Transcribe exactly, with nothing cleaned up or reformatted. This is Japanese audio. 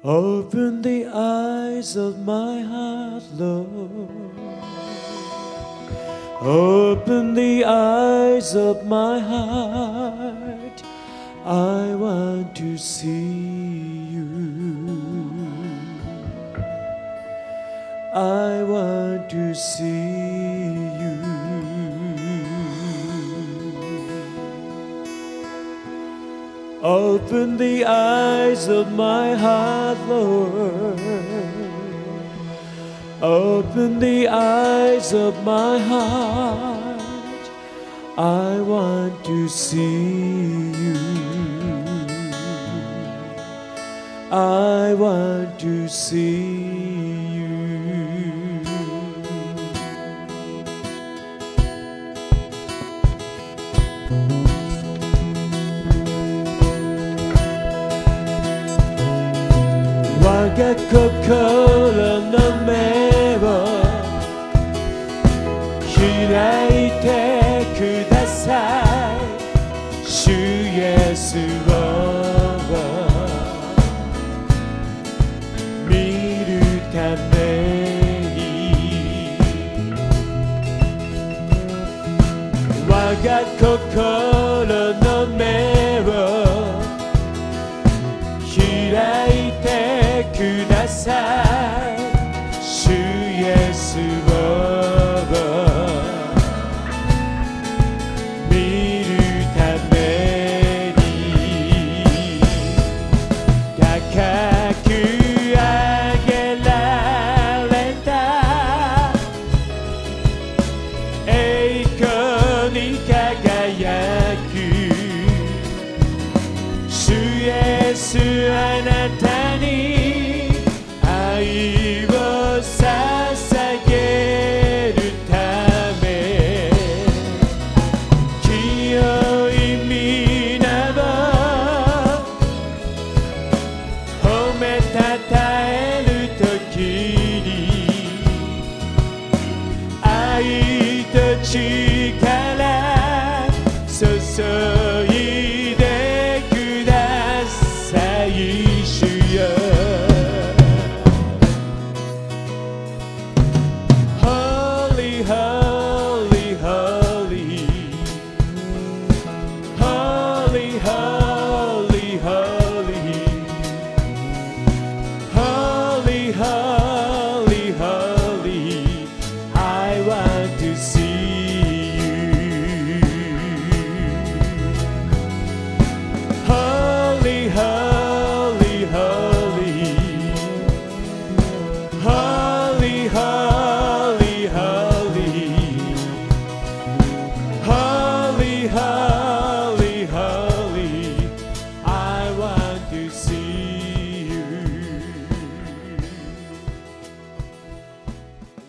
Open the eyes of my heart, Lord. Open the eyes of my heart. I want to see you. I want to see you. Open the eyes of my heart, Lord. Open the eyes of my heart. I want to see you. I want to see you.我が心の目を開いてください。主イエスを見るために我が心の目を開いてください。主イエスを見るために高く上げられた栄光に輝く主イエスあなた